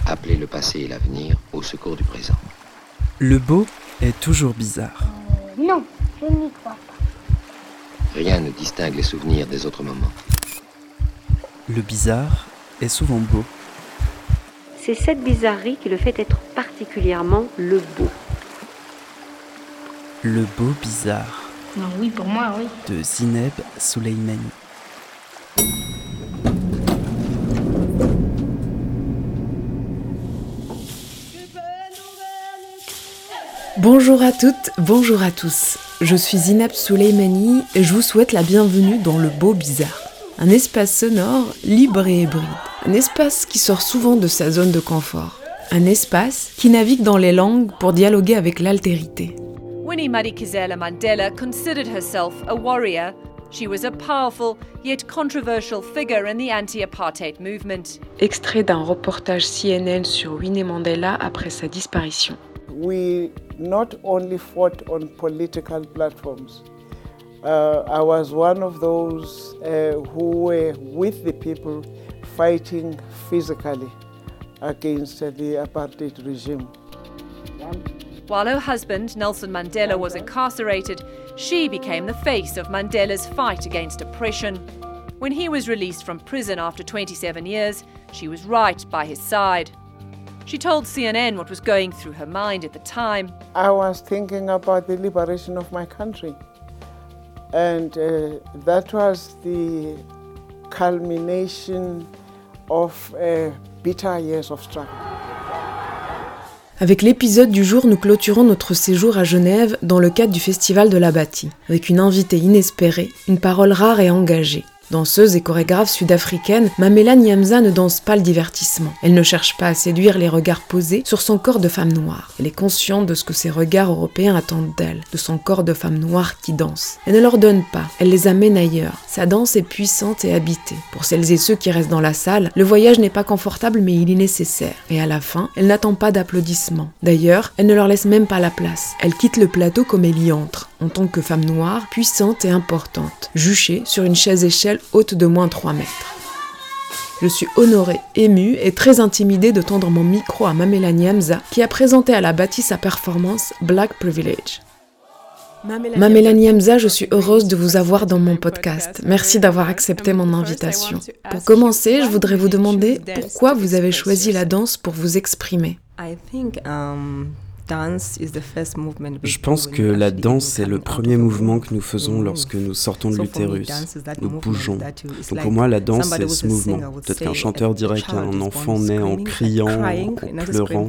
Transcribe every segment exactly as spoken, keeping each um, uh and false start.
Appelez le passé et l'avenir au secours du présent. Le beau est toujours bizarre. Euh, non, je n'y crois pas. Rien ne distingue les souvenirs des autres moments. Le bizarre est souvent beau. C'est cette bizarrerie qui le fait être particulièrement le beau. Le beau bizarre. Non, oui, pour moi, oui. De Zineb Souleymani. Bonjour à toutes, bonjour à tous. Je suis Zineb Souleymani et je vous souhaite la bienvenue dans Le Beau Bizarre. Un espace sonore libre et hybride. Un espace qui sort souvent de sa zone de confort. Un espace qui navigue dans les langues pour dialoguer avec l'altérité. Winnie Madikizela Mandela considered herself a warrior. She was a powerful yet controversial figure in the anti-apartheid movement. Extrait d'un reportage C N N sur Winnie Mandela après sa disparition. We not only fought on political platforms. Uh, I was one of those uh, who were with the people fighting physically against uh, the apartheid regime. While her husband, Nelson Mandela, was incarcerated, she became the face of Mandela's fight against oppression. When he was released from prison after twenty-seven years, she was right by his side. She told C N N what was going through her mind at the time. I was thinking about the liberation of my country. And uh, that was the culmination of uh, bitter years of struggle. Avec l'épisode du jour, nous clôturons notre séjour à Genève dans le cadre du Festival de la Bâtie, avec une invitée inespérée, une parole rare et engagée. Danseuse et chorégraphe sud-africaine, Mamela Nyamza ne danse pas le divertissement. Elle ne cherche pas à séduire les regards posés sur son corps de femme noire. Elle est consciente de ce que ces regards européens attendent d'elle, de son corps de femme noire qui danse. Elle ne leur donne pas, elle les amène ailleurs. Sa danse est puissante et habitée. Pour celles et ceux qui restent dans la salle, le voyage n'est pas confortable mais il est nécessaire. Et à la fin, elle n'attend pas d'applaudissements. D'ailleurs, elle ne leur laisse même pas la place. Elle quitte le plateau comme elle y entre, en tant que femme noire, puissante et importante, juchée sur une chaise-échelle haute de moins trois mètres. Je suis honorée, émue et très intimidée de tendre mon micro à Mamela Nyamza qui a présenté à la Bâtie sa performance Black Privilege. Mamela Nyamza, je suis heureuse de vous avoir dans mon podcast. Merci d'avoir accepté mon invitation. Pour commencer, je voudrais vous demander pourquoi vous avez choisi la danse pour vous exprimer. Je pense que la danse est le premier mouvement que nous faisons lorsque nous sortons de l'utérus. Nous bougeons. Donc pour moi, la danse, c'est ce mouvement. Peut-être qu'un chanteur dirait qu'un enfant naît en criant, en pleurant.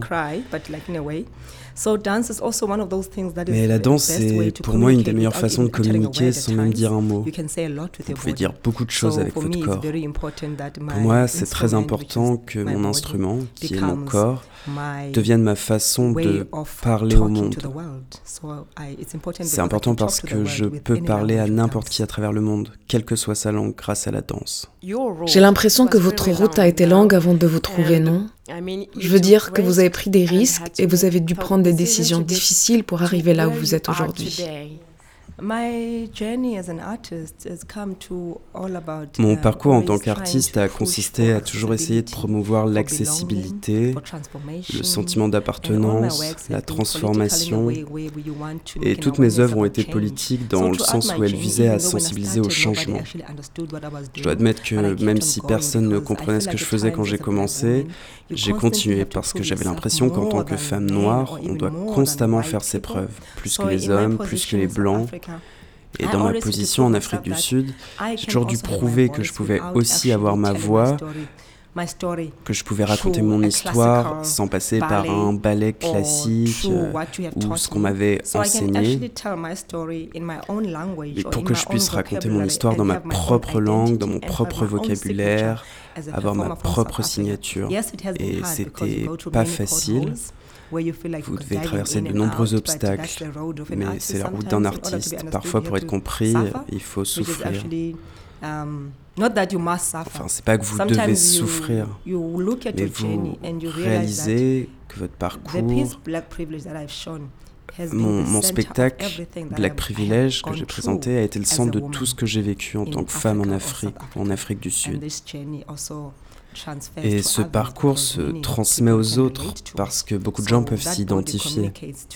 Mais la danse, c'est pour moi une des meilleures façons de communiquer sans même dire un mot. Vous pouvez dire beaucoup de choses avec votre corps. Pour moi, c'est très important que mon instrument, qui est mon corps, devienne ma façon de parler au monde. C'est important parce que je peux parler à n'importe qui à travers le monde, quelle que soit sa langue, grâce à la danse. J'ai l'impression que votre route a été longue avant de vous trouver, non ? Je veux dire que vous avez pris des risques et vous avez dû prendre des décisions difficiles pour arriver là où vous êtes aujourd'hui. Mon parcours en tant qu'artiste a consisté à toujours essayer de promouvoir l'accessibilité, le sentiment d'appartenance, la transformation. Et toutes mes œuvres ont été politiques dans le sens où elles visaient à sensibiliser au changement. Je dois admettre que même si personne ne comprenait ce que je faisais quand j'ai commencé, j'ai continué parce que j'avais l'impression qu'en tant que femme noire, on doit constamment faire ses preuves, plus que les hommes, plus que les blancs. Et dans ma position en Afrique du Sud, j'ai toujours dû prouver que je pouvais aussi avoir ma voix, que je pouvais raconter mon histoire sans passer par un ballet classique euh, ou ce qu'on m'avait enseigné. Et pour que je puisse raconter mon histoire dans ma propre langue, dans mon propre vocabulaire, avoir ma propre signature. Et c'était pas facile. Vous devez traverser de nombreux obstacles, mais c'est la route d'un artiste. Parfois, pour être compris, il faut souffrir. Enfin, c'est pas que vous devez souffrir, mais vous réalisez que votre parcours, mon, mon spectacle Black Privilege que j'ai présenté a été le centre de tout ce que j'ai vécu en tant que femme en Afrique, en Afrique du Sud. Et ce parcours se transmet aux autres parce que beaucoup de gens peuvent s'y identifier.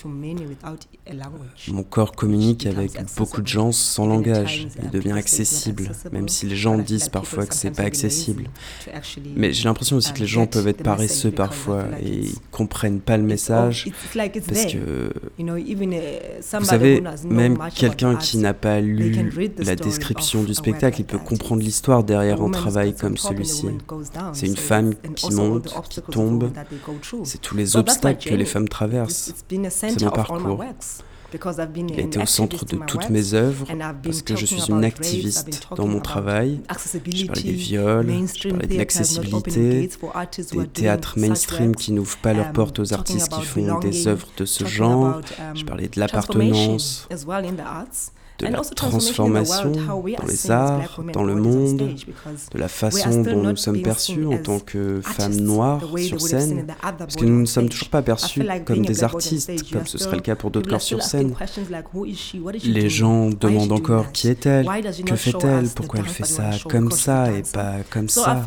Mon corps communique avec beaucoup de gens sans langage. Il devient accessible, même si les gens disent parfois que c'est pas accessible. Mais j'ai l'impression aussi que les gens peuvent être paresseux parfois et ils comprennent pas le message parce que, vous savez, même quelqu'un qui n'a pas lu la description du spectacle, il peut comprendre l'histoire derrière un travail comme celui-ci. C'est une femme qui monte, qui tombe. C'est tous les obstacles que les femmes traversent. C'est mon parcours. Il a été au centre de toutes mes œuvres parce que je suis une activiste dans mon travail. Je parlais des viols, je parlais de l'accessibilité, des théâtres mainstream qui n'ouvrent pas leurs portes aux artistes qui font des œuvres de ce genre. Je parlais de l'appartenance, de la transformation dans les arts, dans le monde, de la façon dont nous sommes perçus en tant que femmes noires sur scène, parce que nous ne sommes toujours pas perçus comme des artistes, comme ce serait le cas pour d'autres corps sur scène. Les gens demandent encore qui est-elle, que fait-elle, pourquoi elle fait ça comme ça et pas comme ça.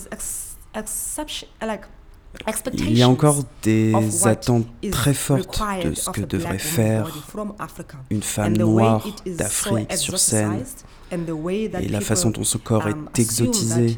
Il y a encore des attentes très fortes de ce que devrait faire une femme noire d'Afrique sur scène et la façon dont son corps est exotisé.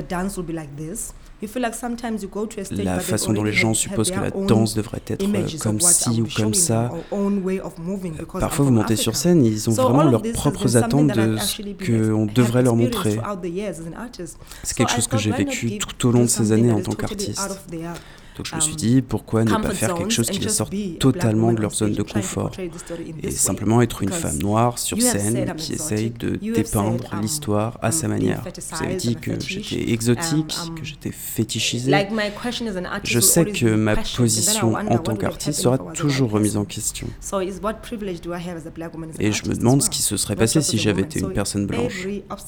La façon dont les gens supposent que la danse devrait être comme ci ou comme ça. Parfois, vous montez sur scène, ils ont vraiment leurs propres attentes de ce qu'on devrait leur montrer. C'est quelque chose que j'ai vécu tout au long de ces années en tant qu'artiste. Donc je me suis dit, pourquoi ne pas faire quelque chose qui les sorte totalement de leur zone de confort et simplement être une femme noire sur scène qui essaye de dépeindre l'histoire à sa manière. Vous avez dit que j'étais exotique, que j'étais fétichisée. Je sais que ma position en tant qu'artiste sera toujours remise en question. Et je me demande ce qui se serait passé si j'avais été une personne blanche.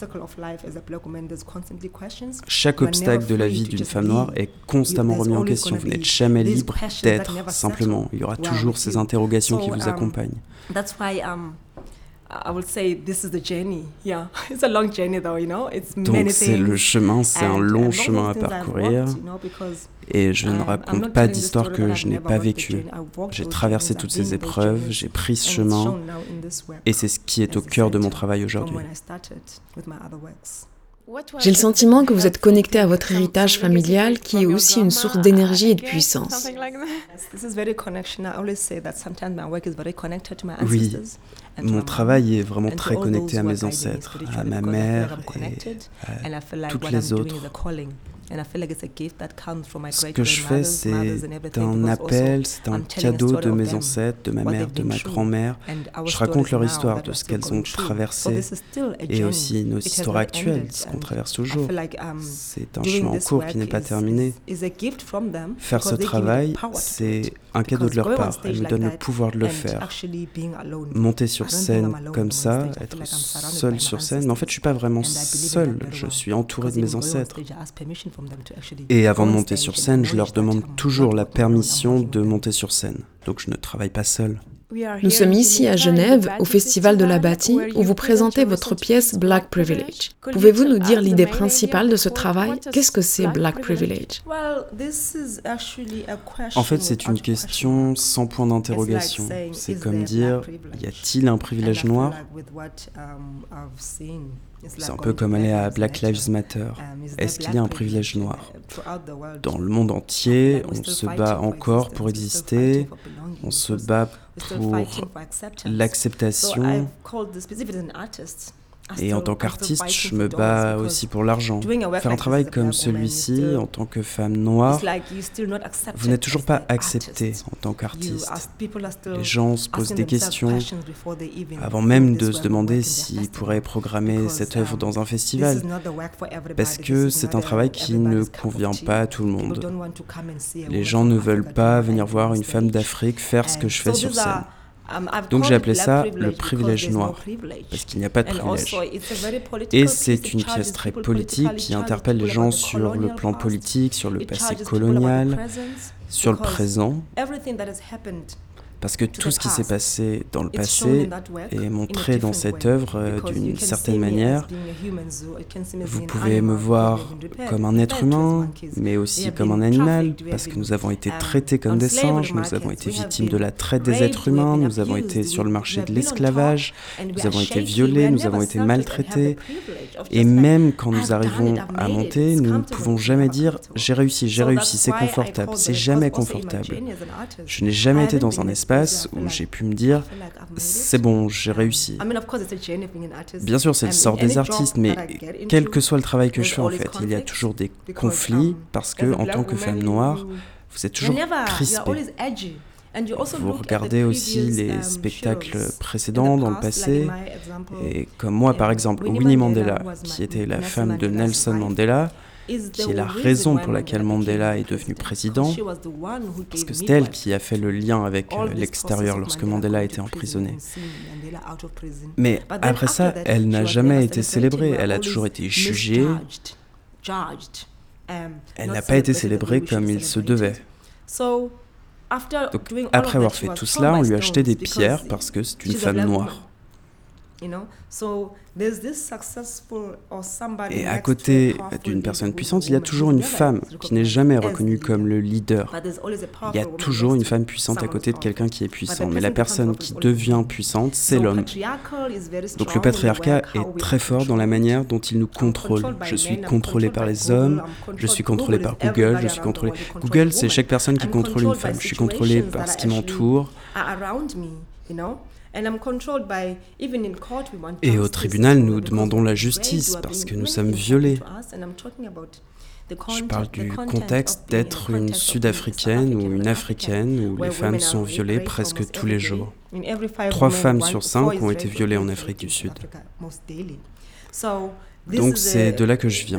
Chaque obstacle de la vie d'une femme noire est constamment remis en question. Vous n'êtes jamais libre d'être, simplement. Il y aura toujours ces interrogations qui vous accompagnent. Donc c'est le chemin, c'est un long chemin à parcourir. Et je ne raconte pas d'histoire que je n'ai pas vécue. J'ai traversé toutes ces épreuves, j'ai pris ce chemin, et c'est ce qui est au cœur de mon travail aujourd'hui. J'ai le sentiment que vous êtes connecté à votre héritage familial qui est aussi une source d'énergie et de puissance. Oui, mon travail est vraiment très connecté à mes ancêtres, à ma mère et à toutes les autres. Ce que je fais, c'est un appel, c'est un cadeau de mes ancêtres, de ma mère, de ma grand-mère. Je raconte leur histoire, de ce qu'elles ont traversé, et aussi nos histoires actuelles, ce qu'on traverse toujours. C'est un chemin en cours qui n'est pas terminé. Faire ce travail, c'est un cadeau de leur part. Elles me donnent le pouvoir de le faire. Monter sur scène comme ça, être seul sur scène, mais en fait, je ne suis pas vraiment seul. Je suis entouré de mes ancêtres. Et avant de monter sur scène, je leur demande toujours la permission de monter sur scène. Donc je ne travaille pas seul. Nous sommes ici à Genève, au Festival de la Bâtie, où vous présentez votre pièce Black Privilege. Pouvez-vous nous dire l'idée principale de ce travail? Qu'est-ce que c'est Black Privilege? En fait, c'est une question sans point d'interrogation. C'est comme dire, y a-t-il un privilège noir? C'est un peu comme aller à Black Lives Matter. Est-ce qu'il y a un privilège noir? Dans le monde entier, on se bat encore pour exister, on se bat pour l'acceptation. Et en tant qu'artiste, je me bats aussi pour l'argent. Faire un travail comme celui-ci, en tant que femme noire, vous n'êtes toujours pas accepté en tant qu'artiste. Les gens se posent des questions avant même de se demander s'ils pourraient programmer cette œuvre dans un festival, parce que c'est un travail qui ne convient pas à tout le monde. Les gens ne veulent pas venir voir une femme d'Afrique faire ce que je fais sur scène. Donc j'ai appelé ça le privilège noir, parce qu'il n'y a pas de privilège. Et c'est une pièce très politique qui interpelle les gens sur le plan politique, sur le passé colonial, sur le présent. Parce que tout ce qui s'est passé dans le passé est montré dans cette œuvre euh, d'une certaine manière. Vous pouvez me voir comme un être humain, mais aussi comme un animal, parce que nous avons été traités comme des singes, nous avons été victimes de la traite des êtres humains, nous avons été sur le marché de l'esclavage, nous avons été violés, nous avons été maltraités. Et même quand nous arrivons à monter, nous ne pouvons jamais dire « j'ai réussi, j'ai réussi, c'est confortable ». C'est jamais confortable. Je n'ai jamais été dans un espace où j'ai pu me dire « c'est bon, j'ai réussi ». Bien sûr, c'est le sort des artistes, mais quel que soit le travail que je fais, en fait, il y a toujours des conflits parce que, en tant que femme noire, vous êtes toujours crispée. Vous regardez aussi les spectacles précédents dans le passé, et comme moi, par exemple, Winnie Mandela, qui était la femme de Nelson Mandela, qui est la raison pour laquelle Mandela est devenu président, parce que c'est elle qui a fait le lien avec euh, l'extérieur lorsque Mandela était emprisonné. Mais après ça, elle n'a jamais été célébrée, elle a toujours été jugée, elle n'a pas été célébrée comme il se devait. Donc, après avoir fait tout cela, on lui a acheté des pierres parce que c'est une femme noire. Et à côté d'une personne puissante, il y a toujours une femme qui n'est jamais reconnue comme le leader. Il y a toujours une femme puissante à côté de quelqu'un qui est puissant. Mais la personne qui devient puissante, c'est l'homme. Donc le patriarcat est très fort dans la manière dont il nous contrôle. Je suis contrôlé par les hommes, je suis contrôlé par Google, je suis contrôlé... Google, c'est chaque personne qui contrôle une femme. Je suis contrôlé par ce qui m'entoure. Et au tribunal, nous demandons la justice parce que nous sommes violés. Je parle du contexte d'être une Sud-Africaine ou une Africaine où les femmes sont violées presque tous les jours. Trois femmes sur cinq ont été violées en Afrique du Sud. Donc c'est de là que je viens.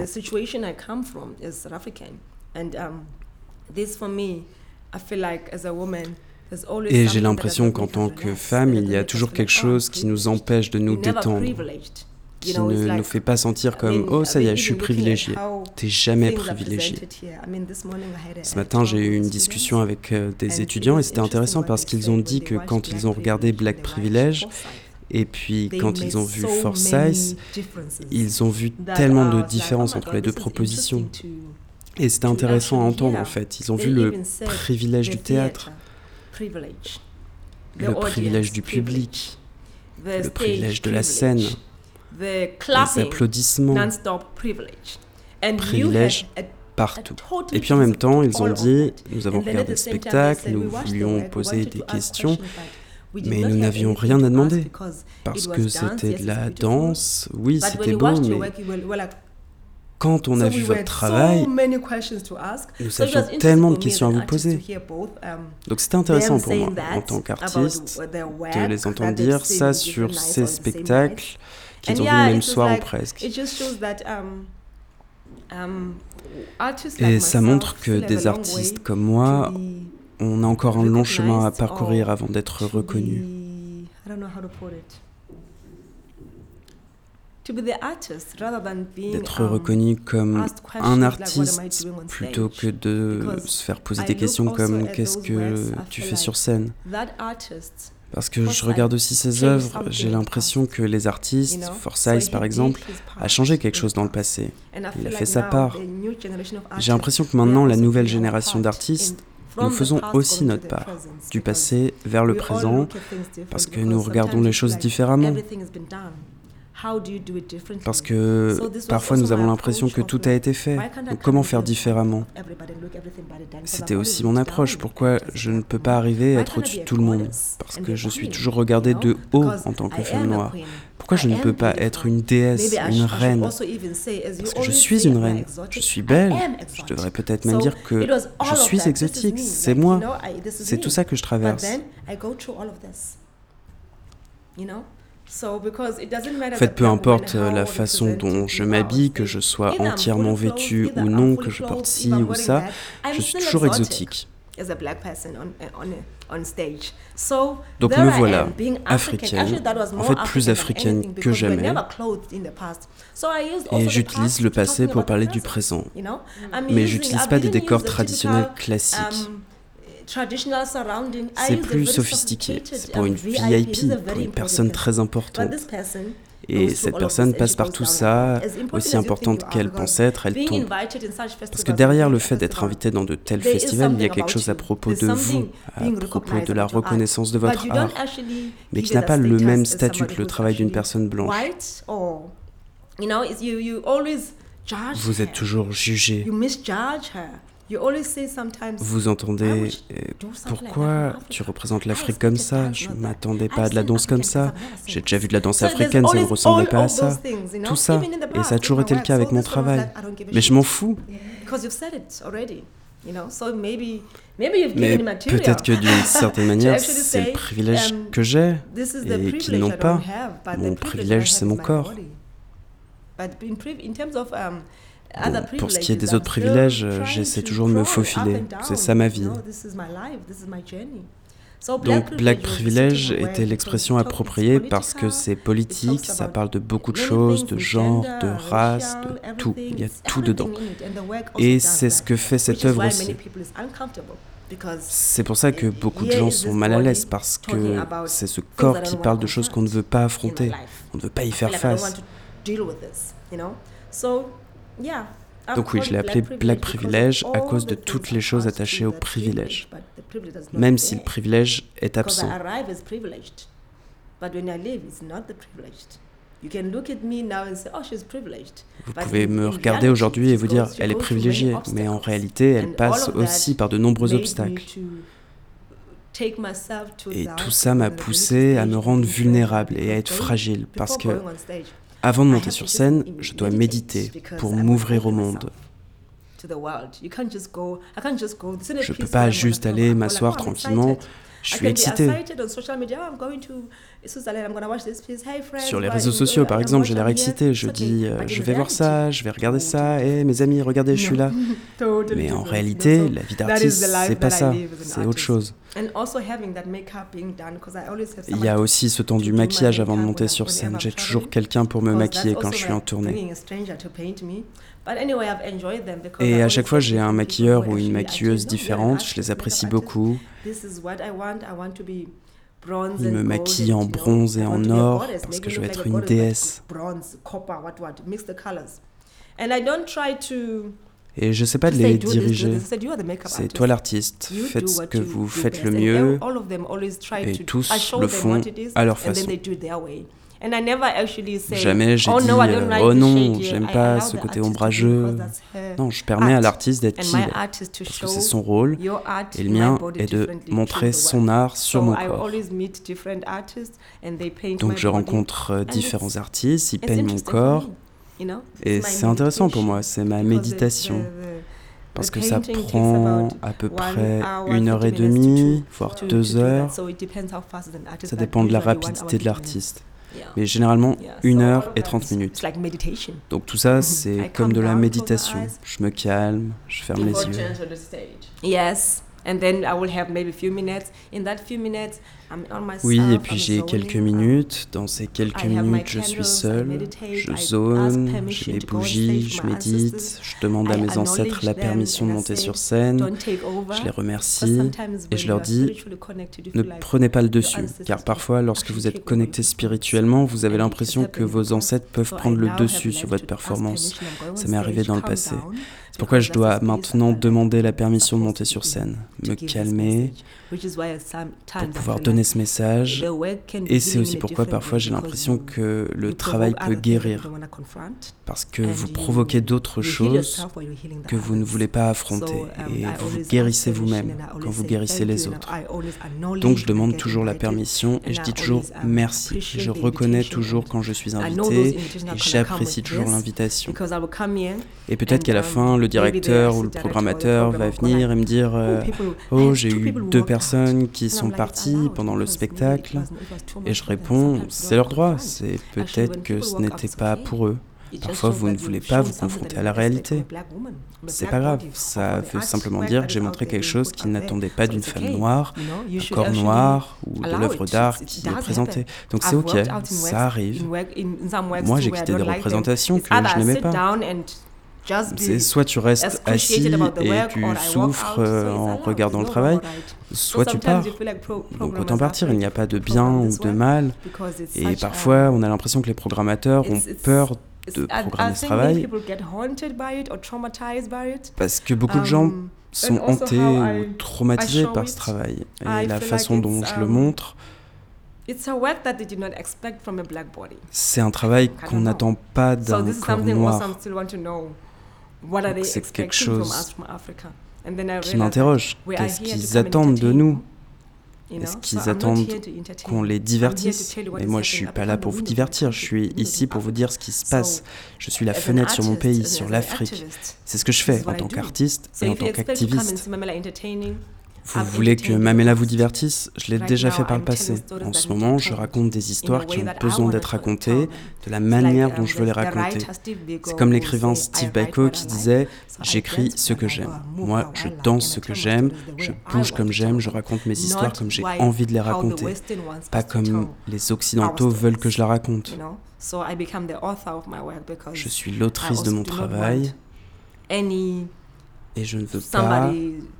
Et j'ai l'impression qu'en tant que femme, il y a toujours quelque chose qui nous empêche de nous détendre, qui ne nous fait pas sentir comme « Oh, ça y est, je suis privilégiée ». T'es jamais privilégiée. Ce matin, j'ai eu une discussion avec euh, des étudiants et c'était intéressant parce qu'ils ont dit que quand ils ont regardé Black Privilege, et puis quand ils ont vu Forsyth, ils ont vu tellement de différences entre les deux propositions. Et c'était intéressant à entendre en fait. Ils ont vu le privilège du théâtre, le privilège du public, le privilège de la scène, les applaudissements, privilège partout. Et puis en même temps, ils ont dit, nous avons regardé le spectacle, nous voulions poser des questions, mais nous n'avions rien à demander, parce que c'était de la danse, oui, c'était beau, mais quand on a vu votre travail, nous avions tellement de questions à vous poser. Donc c'était intéressant pour moi, en tant qu'artiste, de les entendre dire ça sur ces spectacles qu'ils ont vu le même soir ou presque. Et ça montre que des artistes comme moi, on a encore un long chemin à parcourir avant d'être reconnus. D'être reconnu comme un artiste plutôt que de se faire poser des questions comme « qu'est-ce que tu fais sur scène ?» Parce que je regarde aussi ses œuvres, j'ai l'impression que les artistes, Forsyth par exemple, a changé quelque chose dans le passé. Il a fait sa part. J'ai l'impression que maintenant, la nouvelle génération d'artistes, nous faisons aussi notre part, du passé vers le présent, parce que nous regardons les choses différemment. Parce que parfois nous avons l'impression que tout a été fait. Donc comment faire différemment ? C'était aussi mon approche. Pourquoi je ne peux pas arriver à être au-dessus de tout le monde ? Parce que je suis toujours regardée de haut en tant que femme noire. Pourquoi je ne peux pas être une déesse, une reine ? Parce que je suis une reine. Je suis belle. Je devrais peut-être même dire que je suis exotique. C'est moi. C'est tout ça que je traverse. En fait, peu importe la façon dont je m'habille, que je sois entièrement vêtue ou non, que je porte ci ou ça, je suis toujours exotique. Donc me voilà, africaine, en fait plus africaine que jamais, et j'utilise le passé pour parler du présent. Mais j'utilise pas des décors traditionnels classiques. C'est plus sophistiqué, c'est pour une V I P, pour une personne très importante. Et cette personne passe par tout ça, aussi importante qu'elle pense être, elle tombe. Parce que derrière le fait d'être invité dans de tels festivals, il y a quelque chose à propos de vous, à propos de la reconnaissance de votre art, mais qui n'a pas le même statut que le travail d'une personne blanche. Vous êtes toujours jugé. Vous entendez « Pourquoi tu représentes l'Afrique comme ça ? Je ne m'attendais pas à de la danse comme ça. J'ai déjà vu de la danse africaine, ça ne ressemblait pas à ça. » Tout ça. Et ça a toujours été le cas avec mon travail. Mais je m'en fous. Mais peut-être que d'une certaine manière, c'est le privilège que j'ai et qu'ils n'ont pas. Mon privilège, c'est mon corps. Bon, pour ce qui est des autres privilèges, j'essaie toujours de me faufiler. C'est ça ma vie. Donc Black Privilege était l'expression appropriée parce que c'est politique, ça parle de beaucoup de choses, de genre, de race, de tout. Il y a tout dedans. Et c'est ce que fait cette œuvre aussi. C'est pour ça que beaucoup de gens sont mal à l'aise parce que c'est ce corps qui parle de choses qu'on ne veut pas affronter. On ne veut pas y faire face. Donc oui, je l'ai appelé Black Privilege à cause de toutes les choses attachées au privilège, même si le privilège est absent. Vous pouvez me regarder aujourd'hui et vous dire « elle est privilégiée », mais en réalité, elle passe aussi par de nombreux obstacles. Et tout ça m'a poussé à me rendre vulnérable et à être fragile, parce que avant de monter sur scène, je dois méditer pour m'ouvrir au monde. Je ne peux pas juste aller m'asseoir tranquillement. Je suis excitée. Sur les réseaux sociaux, par exemple, j'ai l'air excitée. Je dis, euh, je vais voir ça, je vais regarder ça. Et hey, mes amis, regardez, je suis là. Mais en réalité, la vie d'artiste, c'est pas ça. C'est autre chose. Il y a aussi ce temps du maquillage avant de monter sur scène. J'ai toujours quelqu'un pour me maquiller quand je suis en tournée. Et à chaque fois, j'ai un maquilleur ou une maquilleuse différente. Je les apprécie beaucoup. Il me maquille en bronze et en or parce que je veux être une déesse. Et je ne sais pas de les diriger. C'est toi l'artiste. Faites ce que vous faites le mieux. Et tous le font à leur façon. Jamais j'ai dit euh, « Oh non, j'aime pas ce côté ombrageux ». Non, je permets à l'artiste d'être qui il est, parce que c'est son rôle, et le mien est de montrer son art sur mon corps. Donc je rencontre différents artistes, ils peignent mon corps, et c'est intéressant pour moi, c'est ma méditation. Parce que ça prend à peu près une heure et demie, voire deux heures. Ça dépend de la rapidité de l'artiste. Mais généralement une heure et trente minutes. Donc tout ça, c'est comme de la méditation. Je me calme, je ferme les yeux. Oui, et puis j'ai quelques minutes. Dans ces quelques minutes, je suis seule. Je zone, j'ai mes bougies, je médite. Je demande à mes ancêtres la permission de monter sur scène. Je les remercie et je leur dis « Ne prenez pas le dessus ». Car parfois, lorsque vous êtes connecté spirituellement, vous avez l'impression que vos ancêtres peuvent prendre le dessus sur votre performance. Ça m'est arrivé dans le passé. C'est pourquoi je dois maintenant demander la permission de monter sur scène, me calmer pour pouvoir donner ce message. Et c'est aussi pourquoi parfois j'ai l'impression que le travail peut guérir, parce que vous provoquez d'autres choses que vous ne voulez pas affronter et vous vous guérissez vous-même quand vous guérissez les autres. Donc je demande toujours la permission et je dis toujours merci. Je reconnais toujours quand je suis invité et j'apprécie toujours l'invitation. Et peut-être qu'à la fin, le directeur ou le programmateur va venir et me dire euh, « Oh, j'ai eu deux personnes qui sont parties pendant le spectacle. » Et je réponds « C'est leur droit, c'est peut-être que ce n'était pas pour eux. » Parfois, vous ne voulez pas vous confronter à la réalité. C'est pas grave, ça veut simplement dire que j'ai montré quelque chose qu'ils n'attendaient pas d'une femme noire, un corps noir ou de l'œuvre d'art qui est présentée. Donc c'est ok, ça arrive. Moi, j'ai quitté des représentations que je n'aimais pas. C'est soit tu restes assis et tu souffres en regardant le travail, soit tu pars. Donc autant partir, il n'y a pas de bien ou de mal. Et parfois, on a l'impression que les programmateurs ont peur de programmer ce travail parce que beaucoup de gens sont hantés ou traumatisés par ce travail. Et la façon dont je le montre, c'est un travail qu'on n'attend pas d'un corps noir. Donc c'est quelque chose qui m'interroge. Qu'est-ce qu'ils attendent de nous ? Est-ce qu'ils attendent qu'on les divertisse ? Mais moi, je ne suis pas là pour vous divertir. Je suis ici pour vous dire ce qui se passe. Je suis la fenêtre sur mon pays, sur l'Afrique. C'est ce que je fais en tant qu'artiste et en tant qu'activiste. Vous voulez que Mamela vous divertisse ? Je l'ai déjà fait par le passé. En ce moment, je raconte des histoires qui ont besoin d'être racontées de la manière dont je veux les raconter. C'est comme l'écrivain Steve Biko qui disait « J'écris ce que j'aime. Moi, je danse ce que j'aime, je bouge comme j'aime, je raconte mes histoires comme j'ai envie de les raconter. Pas comme les Occidentaux veulent que je la raconte. Je suis l'autrice de mon travail et je ne veux pas...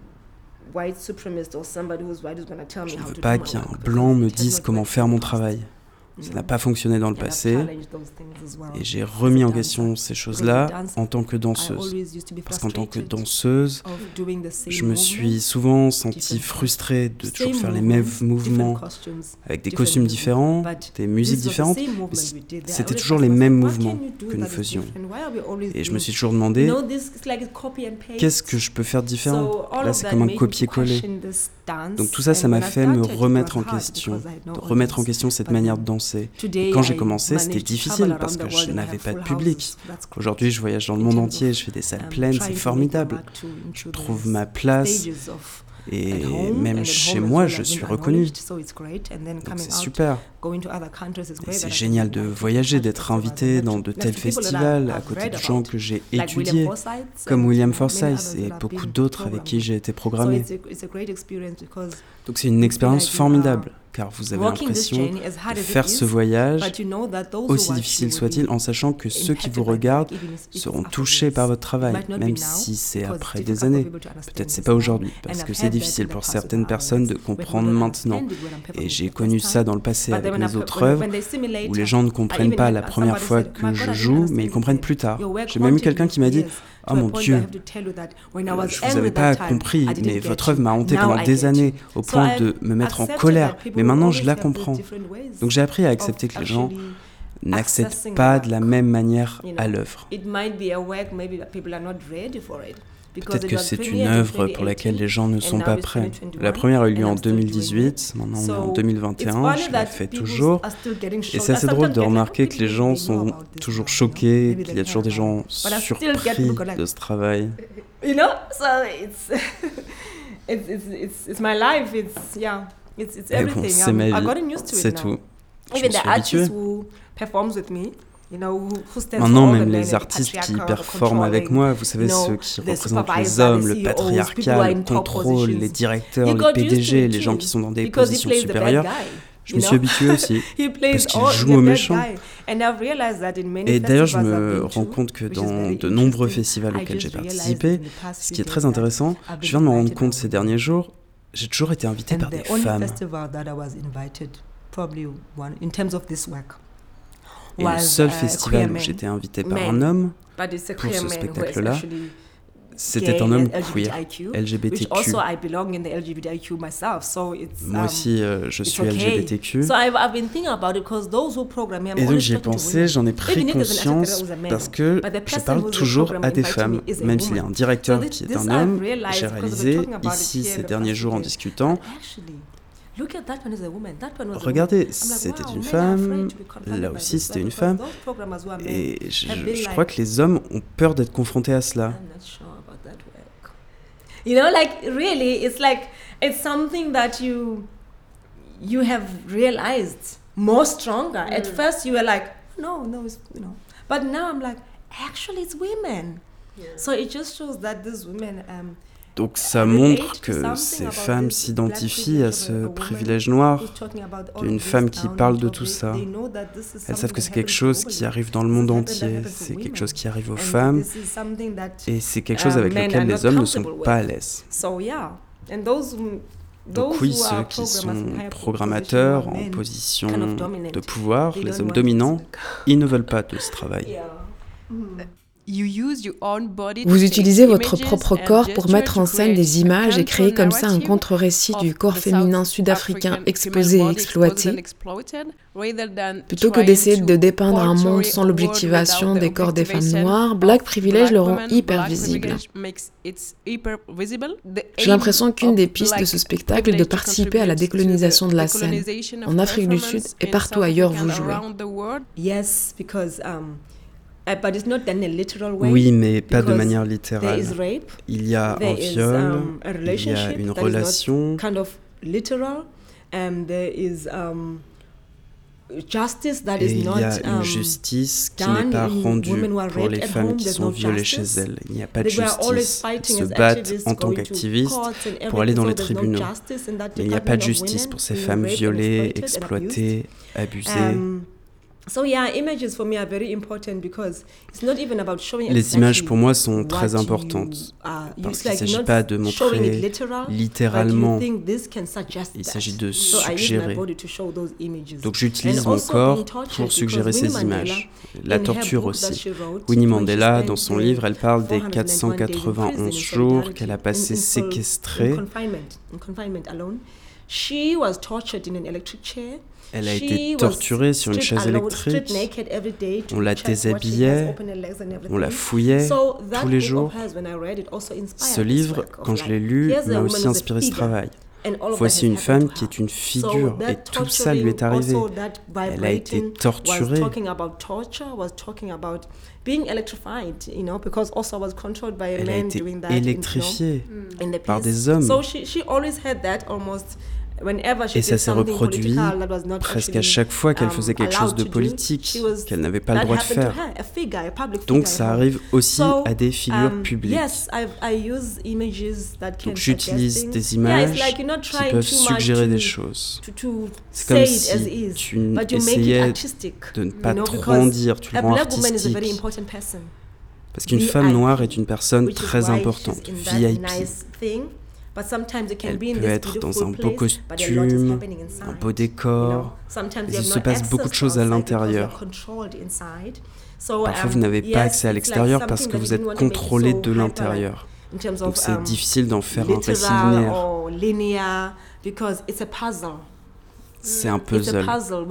Je ne veux pas qu'un blanc me dise comment faire mon travail. Ça n'a pas fonctionné dans le passé et j'ai remis en question ces choses-là en tant que danseuse. Parce qu'en tant que danseuse, je me suis souvent sentie frustrée de toujours faire les mêmes mouvements avec des costumes différents, des musiques différentes. Mais c'était toujours les mêmes mouvements que nous faisions. Et je me suis toujours demandé, qu'est-ce que je peux faire de différent ? Là, c'est comme un copier-coller. Donc tout ça, ça m'a fait me remettre en question, de remettre en question cette manière de danser. Et quand j'ai commencé, c'était difficile parce que je n'avais pas de public. Aujourd'hui, je voyage dans le monde entier, je fais des salles pleines, c'est formidable. Je trouve ma place et même chez moi, je suis reconnue. Donc c'est super. Et c'est génial de voyager, d'être invité dans de tels festivals à côté de gens que j'ai étudiés, comme William Forsythe et beaucoup d'autres avec qui j'ai été programmé. Donc c'est une expérience formidable, car vous avez l'impression de faire ce voyage, aussi difficile soit-il, en sachant que ceux qui vous regardent seront touchés par votre travail, même si c'est après des années. Peut-être c'est pas aujourd'hui, parce que c'est difficile pour certaines personnes de comprendre maintenant. Et j'ai connu ça dans le passé avec mes autres œuvres, où les gens ne comprennent pas la première fois que je joue, mais ils comprennent plus tard. J'ai même eu quelqu'un qui m'a dit « Oh mon Dieu, je vous avais pas compris, mais votre œuvre m'a hanté pendant des années, au point de me mettre en colère, mais maintenant je la comprends. » Donc j'ai appris à accepter que les gens n'accèdent pas de la même manière à l'œuvre. Peut-être que c'est une œuvre pour laquelle les gens ne sont pas prêts. La première a eu lieu en deux mille dix-huit, maintenant on est en deux mille vingt et un, je la fais toujours. Et c'est assez drôle de remarquer que les gens sont toujours choqués, qu'il y a toujours des gens surpris de ce travail. You know, so it's it's it's it's my life. It's yeah, it's it's everything. C'est ma vie, c'est tout. Je me suis habituée. Maintenant, même les artistes qui performent avec moi, vous savez, ceux qui représentent les hommes, le patriarcat, le contrôle, les directeurs, les P D G, les gens qui sont dans des positions supérieures, je me suis habituée aussi, parce qu'ils jouent aux méchants. Et d'ailleurs, je me rends compte que dans de nombreux festivals auxquels j'ai participé, ce qui est très intéressant, je viens de me rendre compte ces derniers jours, j'ai toujours été invitée par des femmes. Et le seul festival où j'étais invitée par un homme pour ce spectacle-là, c'était un homme queer, L G B T Q. Moi aussi, euh, je suis L G B T Q. Et donc j'y ai pensé, j'en ai pris conscience parce que je parle toujours à des femmes. Même s'il y a un directeur qui est un homme, j'ai réalisé ici ces derniers jours en discutant, regardez, c'était une femme, là aussi c'était une femme, et je, je crois que les hommes ont peur d'être confrontés à cela. You know, like really, it's like it's something that you you have realized more stronger. Mm. At first, you were like, no, no, it's, you know, but now I'm like, actually, it's women. Yeah. So it just shows that these women um, Donc ça montre que ces femmes s'identifient à ce privilège noir d'une femme qui parle de tout ça. Elles savent que c'est quelque chose qui arrive dans le monde entier, c'est quelque chose qui arrive aux femmes, et c'est quelque chose avec lequel les hommes ne sont pas à l'aise. Donc oui, ceux qui sont programmateurs en position de pouvoir, les hommes dominants, ils ne veulent pas de ce travail. Vous utilisez votre propre corps pour mettre en scène des images et créer comme ça un contre-récit du corps féminin sud-africain exposé et exploité, plutôt que d'essayer de dépeindre un monde sans l'objectivation des corps des femmes noires. Black Privilege le rend hyper visible. J'ai l'impression qu'une des pistes de ce spectacle est de participer à la décolonisation de la scène. En Afrique du Sud et partout ailleurs vous jouez. Yes, because um, Uh, but it's not done in a literal way. Oui, mais pas de manière littérale. Il y a un viol, um, il y a une relation. Kind of literal, and there is um, justice that et is il not, y a une um, justice qui n'est pas rendue pour les femmes qui sont violées chez elles. Il n'y a pas de justice. Elles se battent en tant qu'activistes pour aller dans les tribunaux. Mais il n'y a pas de justice pour ces femmes violées, exploitées, abusées. Um, Les images pour moi sont très importantes parce qu'il ne s'agit pas de montrer littéralement, il s'agit de suggérer. Donc j'utilise mon corps pour suggérer ces images. La torture aussi. Winnie Mandela, dans son livre, elle parle des quatre cent quatre-vingt-onze jours qu'elle a passé séquestrée. Elle a été torturée sur une chaise électrique, on la déshabillait, on la fouillait tous les jours. Ce livre, quand je l'ai lu, m'a aussi inspiré ce travail. Voici une femme qui est une figure et tout ça lui est arrivé. Elle a été torturée. Elle a été électrifiée par des hommes. Et ça s'est reproduit presque à chaque fois qu'elle faisait quelque chose de politique, qu'elle n'avait pas le droit de faire. Donc ça arrive aussi à des figures publiques. Donc j'utilise des images qui peuvent suggérer des choses. C'est comme si tu essayais de ne pas trop en dire, tu le rends artistique. Parce qu'une femme noire est une personne très importante, V I P. Elle peut être dans un beau costume, un beau décor, mais il se passe beaucoup de choses à l'intérieur. Parfois, vous n'avez pas accès à l'extérieur parce que vous êtes contrôlé de l'intérieur. Donc c'est difficile d'en faire un récit linéaire. C'est un puzzle.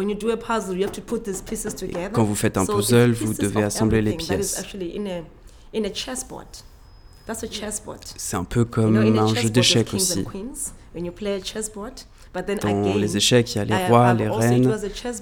Et quand vous faites un puzzle, vous devez assembler les pièces. C'est un peu comme un jeu d'échecs aussi. Dans les échecs, il y a les rois, les reines.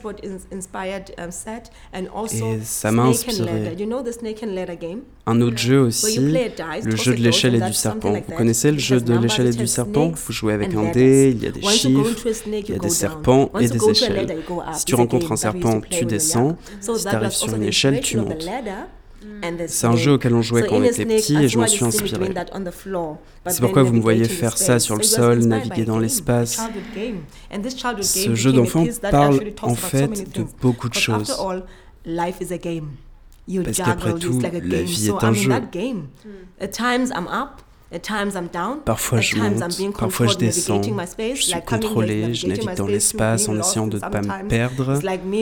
Et ça m'a inspiré. Un autre jeu aussi, le jeu de l'échelle et du serpent. Vous connaissez le jeu de l'échelle et du serpent? Vous jouez avec un dé, il y a des chiffres, il y a des serpents et des échelles. Si tu rencontres un serpent, tu descends. Si tu arrives sur une échelle, tu montes. C'est un jeu auquel on jouait quand on était petit et je m'en suis inspiré. C'est pourquoi vous me voyez faire ça sur le sol, naviguer dans l'espace. Ce jeu d'enfant parle en fait de beaucoup de choses. Parce qu'après tout, la vie est un jeu. Parfois je monte, parfois je descends, je suis contrôlé, je navigue dans l'espace en essayant de ne pas me perdre.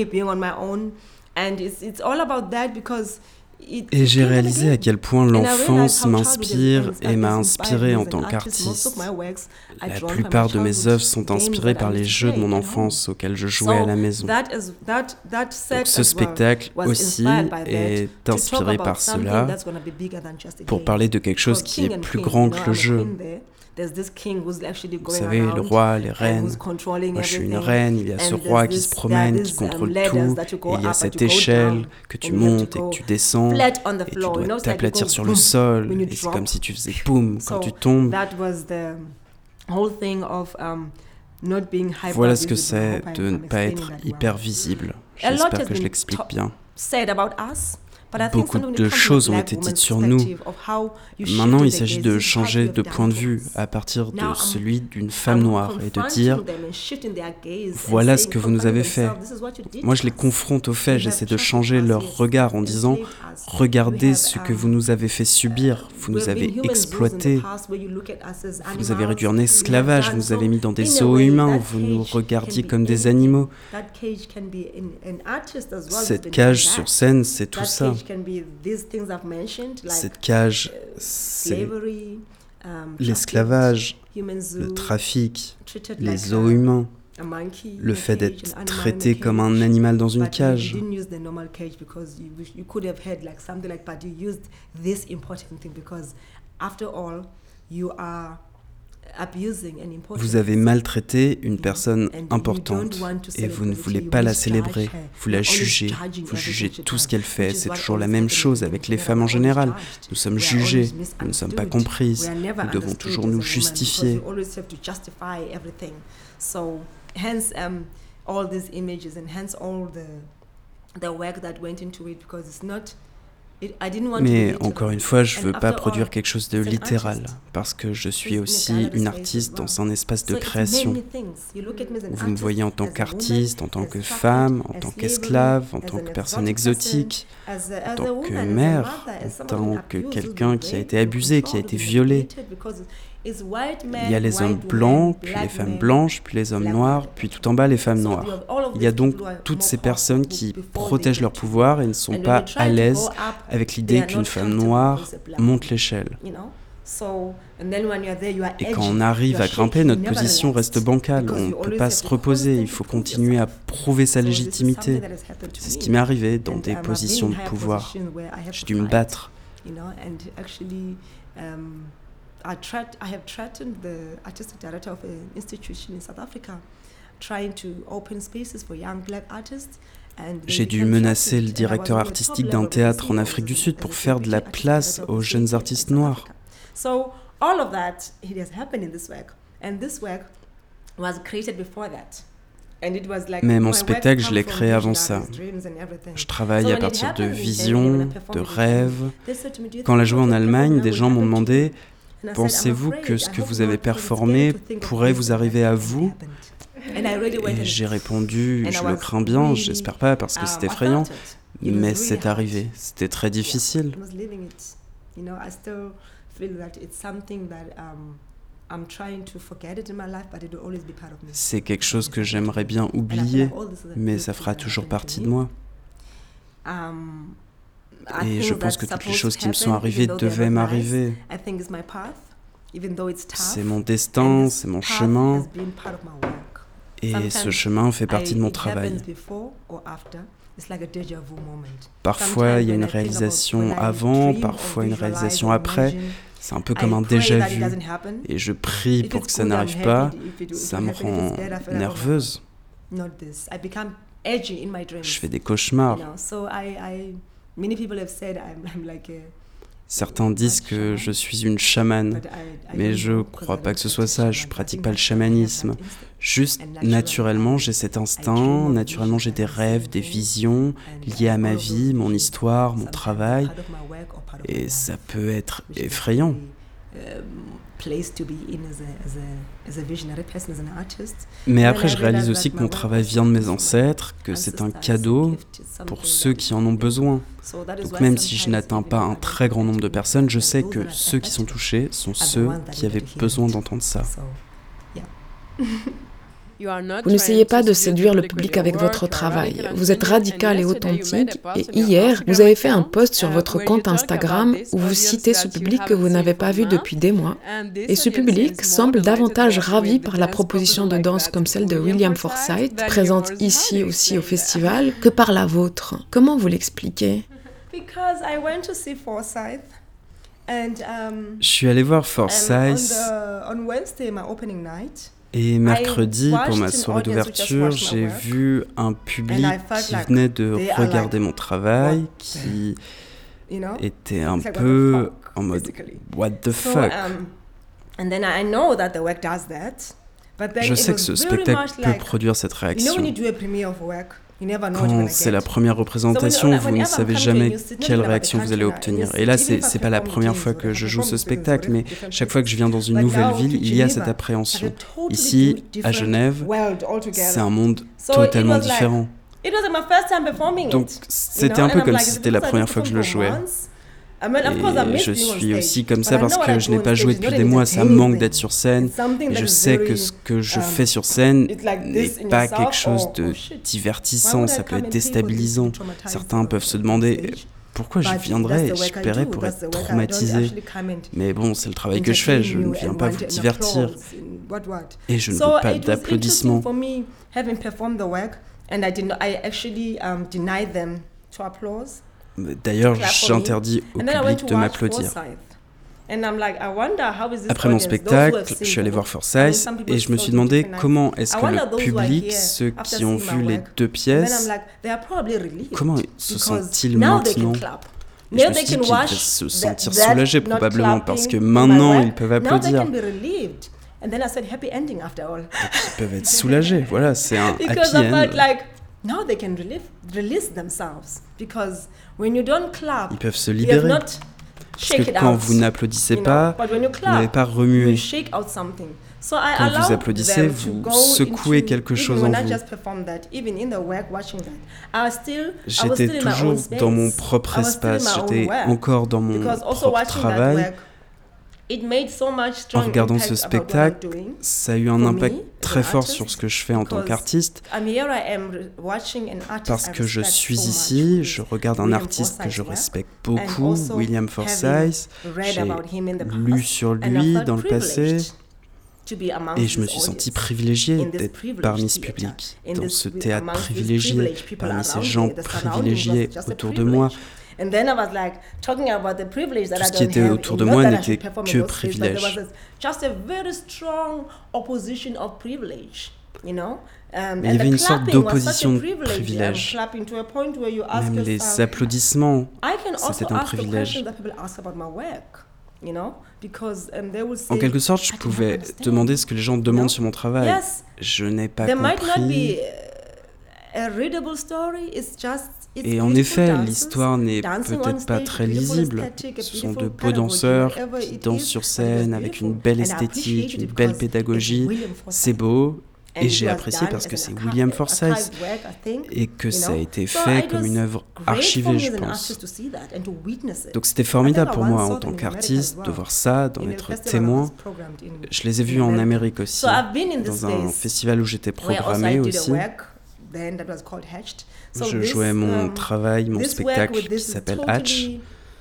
Et j'ai réalisé à quel point l'enfance m'inspire et m'a inspiré en tant qu'artiste. La plupart de mes œuvres sont inspirées par les jeux de mon enfance auxquels je jouais à la maison. Donc ce spectacle aussi est inspiré par cela pour parler de quelque chose qui est plus grand que le jeu. Vous savez, le roi, les reines. Moi, je suis une reine, il y a ce roi qui se promène, qui contrôle tout, et il y a cette échelle que tu montes et que tu descends, et tu dois t'aplatir sur le sol, et c'est comme si tu faisais boum quand tu tombes. Voilà ce que c'est de ne pas être hyper visible. J'espère que je l'explique bien. Beaucoup de choses ont été dites sur nous. Maintenant, il s'agit de changer de point de vue à partir de celui d'une femme noire et de dire « Voilà ce que vous nous avez fait ». Moi, je les confronte aux faits, j'essaie de changer leur regard en disant « Regardez ce que vous nous avez fait subir, vous nous avez exploités, vous nous avez réduits en esclavage, vous nous avez mis dans des zoos humains, vous nous regardiez comme des animaux. » Cette cage sur scène, c'est tout ça. Cette cage, c'est l'esclavage, le trafic, les zoos humains, le fait d'être traité comme un animal dans une cage. Vous avez maltraité une personne importante et vous ne voulez pas la célébrer, vous la jugez, vous jugez tout ce qu'elle fait. C'est toujours la même chose avec les femmes en général. Nous sommes jugées, nous ne sommes pas comprises, nous devons toujours nous justifier. Mais encore une fois, je ne veux pas produire quelque chose de littéral, parce que je suis aussi une artiste dans un espace de création. Vous me voyez en tant qu'artiste, en tant que femme, en tant qu'esclave, en tant que personne exotique, en tant que mère, en tant que quelqu'un qui a été abusé, qui a été violé. Il y a les hommes blancs, puis les femmes blanches, puis les hommes noirs, puis tout en bas les femmes noires. Il y a donc toutes ces personnes qui protègent leur pouvoir et ne sont pas à l'aise avec l'idée qu'une femme noire monte l'échelle. Et quand on arrive à grimper, notre position reste bancale. On ne peut pas se reposer, il faut continuer à prouver sa légitimité. C'est ce qui m'est arrivé dans des positions de pouvoir. J'ai dû me battre. I, tried, I have threatened the artistic director of an institution in South Africa, trying to open spaces for young black artists. J'ai dû menacer le directeur artistique d'un théâtre en Afrique du Sud pour faire de la place aux jeunes artistes noirs. So all of that it has happened in this work, and this work was created before that. Mais mon spectacle, je l'ai créé avant ça. Je travaille à partir de visions, de rêves. Quand on l'a joué en Allemagne, des gens m'ont demandé « Pensez-vous que ce que vous avez performé pourrait vous arriver à vous ?» Et j'ai répondu « Je le crains bien, j'espère pas parce que c'est effrayant. » Mais c'est arrivé, c'était très difficile. C'est quelque chose que j'aimerais bien oublier, mais ça fera toujours partie de moi. Et je pense que toutes les choses qui me sont arrivées devaient m'arriver. C'est mon destin, c'est mon chemin. Et ce chemin fait partie de mon travail. Parfois, il y a une réalisation avant, parfois une réalisation après. C'est un peu comme un déjà-vu. Et je prie pour que ça n'arrive pas. Ça me rend nerveuse. Je fais des cauchemars. Certains disent que je suis une chamane, mais je ne crois pas que ce soit ça, je ne pratique pas le chamanisme. Juste, naturellement, j'ai cet instinct, naturellement, j'ai des rêves, des visions liées à ma vie, mon histoire, mon travail, et ça peut être effrayant. Mais après, je réalise aussi que mon travail vient de mes ancêtres, que c'est un cadeau pour ceux qui en ont besoin. Donc même si je n'atteins pas un très grand nombre de personnes, je sais que ceux qui sont touchés sont ceux qui avaient besoin d'entendre ça. Vous n'essayez pas de séduire le public avec votre travail. Vous êtes radical et authentique. Et hier, vous avez fait un post sur votre compte Instagram où vous citez ce public que vous n'avez pas vu depuis des mois. Et ce public semble davantage ravi par la proposition de danse comme celle de William Forsythe, présente ici aussi au festival, que par la vôtre. Comment vous l'expliquez ? Je suis allé voir Forsythe. Et mercredi, pour ma soirée d'ouverture, j'ai vu un public qui venait de regarder mon travail, qui était un peu en mode « what the fuck ». Je sais que ce spectacle peut produire cette réaction. Quand c'est la première représentation, vous ne savez jamais quelle réaction vous allez obtenir. Et là, c'est, c'est pas la première fois que je joue ce spectacle, mais chaque fois que je viens dans une nouvelle ville, il y a cette appréhension. Ici, à Genève, c'est un monde totalement différent. Donc, c'était un peu comme si c'était la première fois que je le jouais. Et je suis aussi comme ça parce que je n'ai pas joué depuis des mois, ça me manque d'être sur scène. Et je sais que ce que je fais sur scène n'est pas quelque chose de divertissant, ça peut être déstabilisant. Certains peuvent se demander pourquoi j'y viendrais et je paierais pour être traumatisé. Mais bon, c'est le travail que je fais, je ne viens pas vous divertir. Et je ne veux pas d'applaudissements. D'ailleurs, j'interdis au public de m'applaudir. Après mon spectacle, je suis allé voir Forsyth et je me suis demandé comment est-ce que le public, ceux qui ont vu les deux pièces, comment se sentent-ils maintenant ? Et je me suis dit qu'ils devaient se sentir soulagés probablement parce que maintenant ils peuvent applaudir. Donc ils peuvent être soulagés, voilà, c'est un happy end. Now they can relieve, release themselves because when you don't clap, ils peuvent se libérer. Parce que quand vous n'applaudissez pas, vous n'avez pas remué. Quand vous applaudissez, vous secouez quelque chose en vous. J'étais toujours dans mon propre espace, j'étais encore dans mon propre travail. En regardant ce spectacle, ça a eu un impact très fort sur ce que je fais en tant qu'artiste, parce que je suis ici, je regarde un artiste que je respecte beaucoup, William Forsyth, j'ai lu sur lui dans le passé, et je me suis senti privilégié d'être parmi ce public, dans ce théâtre privilégié, parmi ces gens privilégiés autour de moi. Tout ce qui était autour de moi n'était que privilège. Mais il y avait une sorte d'opposition de privilège. Même les applaudissements, c'était un privilège. En quelque sorte, je pouvais demander ce que les gens demandent sur mon travail. Je n'ai pas compris. Et en effet, l'histoire n'est peut-être pas très lisible. Ce sont de beaux danseurs qui dansent sur scène avec une belle esthétique, une belle pédagogie. C'est beau et j'ai apprécié parce que c'est William Forsyth et que ça a été fait comme une œuvre archivée, je pense. Donc c'était formidable pour moi en tant qu'artiste de voir ça, d'en être témoin. Je les ai vus en Amérique aussi, dans un festival où j'étais programmée aussi. Je jouais mon travail, mon spectacle qui s'appelle Hatch.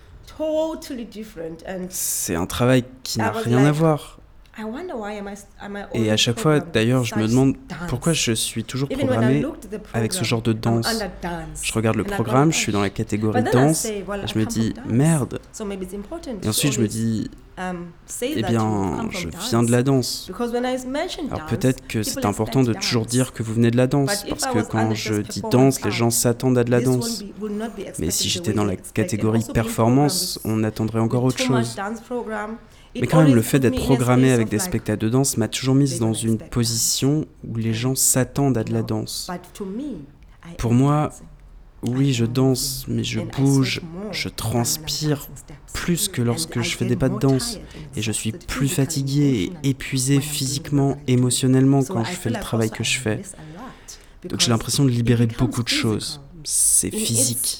C'est un travail qui n'a rien à voir. Et à chaque fois, d'ailleurs, je me demande pourquoi je suis toujours programmée avec ce genre de danse. Je regarde le programme, je suis dans la catégorie danse, et je me dis merde. Et ensuite, je me dis eh bien, je viens de la danse. Alors peut-être que c'est important de toujours dire que vous venez de la danse, parce que quand je dis danse, les gens s'attendent à de la danse. Mais si j'étais dans la catégorie performance, on attendrait encore autre chose. Mais quand même, le fait d'être programmé avec des spectacles de danse m'a toujours mise dans une position où les gens s'attendent à de la danse. Pour moi, oui, je danse, mais je bouge, je transpire plus que lorsque je fais des pas de danse. Et je suis plus fatigué et épuisé physiquement, émotionnellement quand je fais le travail que je fais. Donc j'ai l'impression de libérer beaucoup de choses. C'est physique.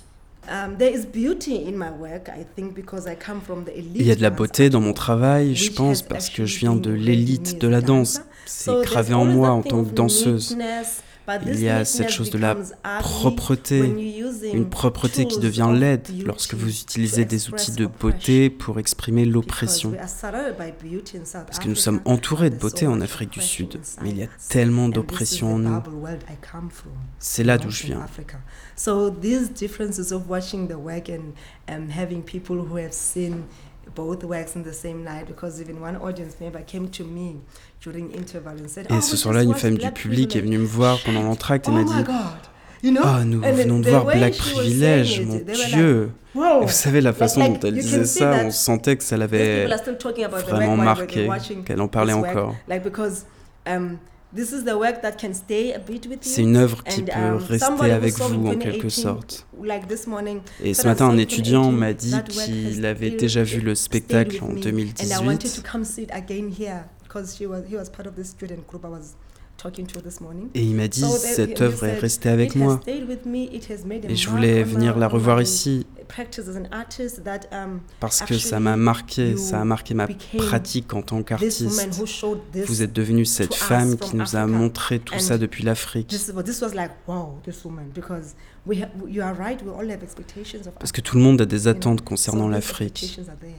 Il y a de la beauté dans mon travail, je pense, parce que je viens de l'élite de la danse. C'est gravé en moi en tant que danseuse. Il y a cette chose de la propreté, une propreté qui devient laide lorsque vous utilisez des outils de beauté pour exprimer l'oppression. Parce que nous sommes entourés de beauté en Afrique du Sud, mais il y a tellement d'oppression en nous. C'est là d'où je viens. So these differences of watching the work and um, having people who have seen both works in the same night, because even one audience member came to me during interval and said, et ce soir-là, une femme du public est venue me voir pendant l'entracte et m'a dit « Ah, nous venons de voir Black Privilege, mon Dieu !» Vous savez, la façon dont elle disait ça, on sentait que ça l'avait vraiment marqué, qu'elle en parlait encore. Um, This is the work that can stay a bit with you. C'est une œuvre qui And, peut um, rester somebody avec who saw vous in en quelque twenty eighteen, sorte. like this morning, Et ce said, matin, "I un saw in étudiant twenty eighteen, m'a dit that work qu'il has avait still déjà vu le stayed spectacle with en me, deux mille and I wanted to dix-huit. come sit again here because she was, he was part of this student group I was talking to this morning. Et il m'a dit, So they- cette he œuvre est said, restée avec "It has moi. stayed with me, it has made a Et je mark voulais on venir my- la on revoir my ici practice as an artist that, um, parce que ça actually m'a marqué, you ça a marqué ma became pratique en tant this woman qu'artiste. who showed this Vous êtes devenue cette to us femme from qui nous a Africa. montré tout And ça depuis l'Afrique. This, was- this was like, wow, this woman, because we ha- you are right, we all have expectations of Parce que tout le monde a des you know. attentes concernant So these l'Afrique. expectations are there.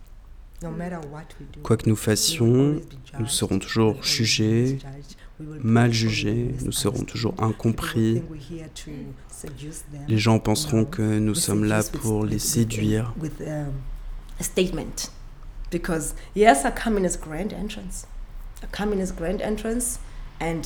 No matter what we do, Quoi que nous we will fassions, always be nous judged, serons we toujours will always be jugés, misjudged, we will mal be jugés, nous serons toujours incompris. People will think we're here to seduce them, Les gens penseront you que know. nous We sommes là seduce with- pour with- les with- séduire. With um, a statement. Because yes, I come in as grand entrance. I come in as grand entrance and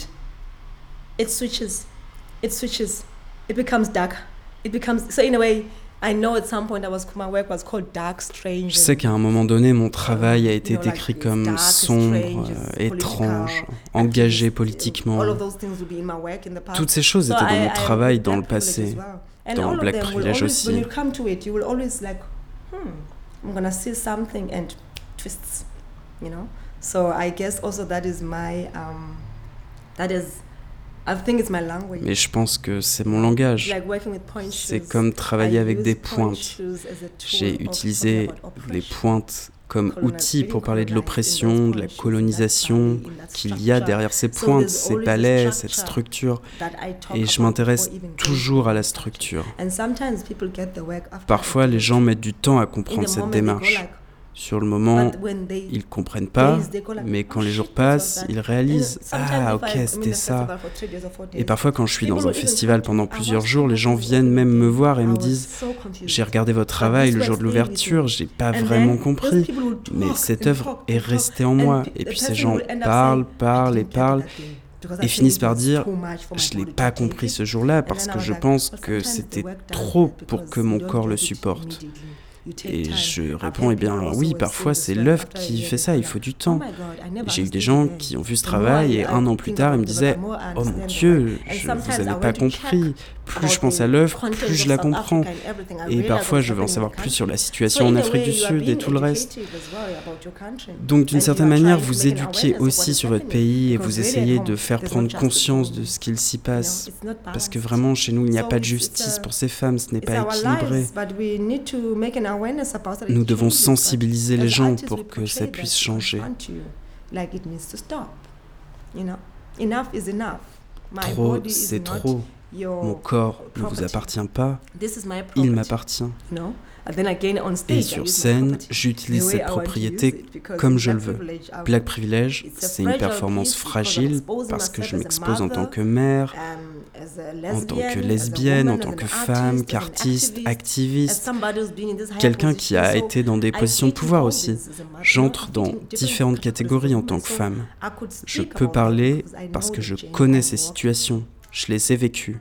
it switches. It switches. It becomes dark. It becomes, so in a way, I know at some point I was, my work was called dark, strange. Je sais qu'à un moment donné, mon travail a été you know, like décrit it's comme dark, sombre, strange, euh, it's étrange, political, engagé activist, politiquement. all of those things will be in my work in the past. Toutes ces choses So étaient dans I- mon I travail have dans le black privilege passé, as well. And dans all of Black them will Privilege always, aussi. when you come to it, you will always like, hmm, I'm gonna see something and twists, you know. So I guess also that is my, um, that is, I think it's my language. Mais je pense que c'est mon langage. Like working with point C'est shoes, comme travailler I avec use des point pointes. shoes as a tool J'ai of utilisé talking about les oppression. pointes comme Colonial- outil pour being parler de colonized in l'oppression, those de la point shoes, in that colonisation body, in that qu'il y a structure. derrière ces So pointes, there's ces always a palais, cette structure structure. that I talk Et je about m'intéresse before even toujours going à la into structure. structure. And sometimes people get the work after Parfois, they les do gens it. mettent du temps à In comprendre the cette moment, they go démarche. like, Sur le moment, but when they ils comprennent pas, days, they go like, mais oh quand les shit, jours this was passent, that. ils And réalisent « sometimes Ah, if ok, I'm in c'était the ça festival for three days or four ». Et days, parfois, quand je suis people dans un will even festival come to- pendant I plusieurs was jours, les gens so viennent même me voir et I me was disent so confused. « J'ai regardé votre travail le jour de l'ouverture, j'ai pas And vraiment then compris. those people will » Mais talk cette and œuvre talk est and talk, restée en and moi. pe- Et the puis ces person gens will end up parlent, saying, parlent "I et didn't get it parlent. that day, because I Et think finissent it par was dire too much for my « Je l'ai body to pas take compris it." ce jour-là And parce then I que was je like, pense but que sometimes the c'était work does trop that pour because que you mon don't corps get le it supporte. immediately. You take Et time. je I've réponds, had eh bien people also oui, who parfois have seen c'est this work l'œuvre after qui a fait year, ça, they il go faut du like, temps. "Oh my God, I never J'ai eu des understood gens it qui then." ont vu ce The more travail I- et I un an plus think tard, about ils me it, the disaient more I « Oh understand mon the Dieu, work. And je, sometimes vous I avez want pas to compris. check Plus je about pense the à l'œuvre, content plus je of la South comprends. Africa and everything. I Et realize parfois, what's je veux en happening savoir in the plus sur la country. situation So en in a Afrique way, du you are Sud et being tout le reste. educative as well about your country. Donc d'une And certaine you are manière, trying to vous make an éduquez awareness of aussi what sur is votre happening. pays et Because vous really at essayez home, de faire there's no prendre justice conscience in de it. ce qu'il s'y You know, passe. it's not Parce que balanced. vraiment, chez nous, il n'y a So pas de it's- it's justice a- pour ces femmes, ce n'est It's pas our équilibré. lives, but we need to make an awareness about it. Nous It devons changes, but sensibiliser les as gens artists, pour we que ça portray puisse that changer. in front of you, like it needs to stop. You know, enough is enough. My Trop, body is c'est not trop. your Mon corps ne vous property. appartient pas, This is my il property. m'appartient. You know? And then again on stage, Et I sur use my scène, property. j'utilise The way cette I want to use propriété it, because comme in je le Black veux. Privilege, I- Black Privilege, It's a c'est une fragile performance piece because I'm fragile exposing parce que je myself as a m'expose en tant mother, que mère, um, as a en tant lesbian, que as a lesbienne, en woman, tant as que an femme, artist, as an qu'artiste, activist, as activiste, somebody who's been in this higher quelqu'un qui a position. été dans des I positions de fit in pouvoir all aussi. this as a mother, J'entre not dans fitting different différentes categories catégories en of tant women. que So femme. I could Je speak peux about parler that because I parce know que the je change connais I'm ces walking. situations. Je les ai vécues.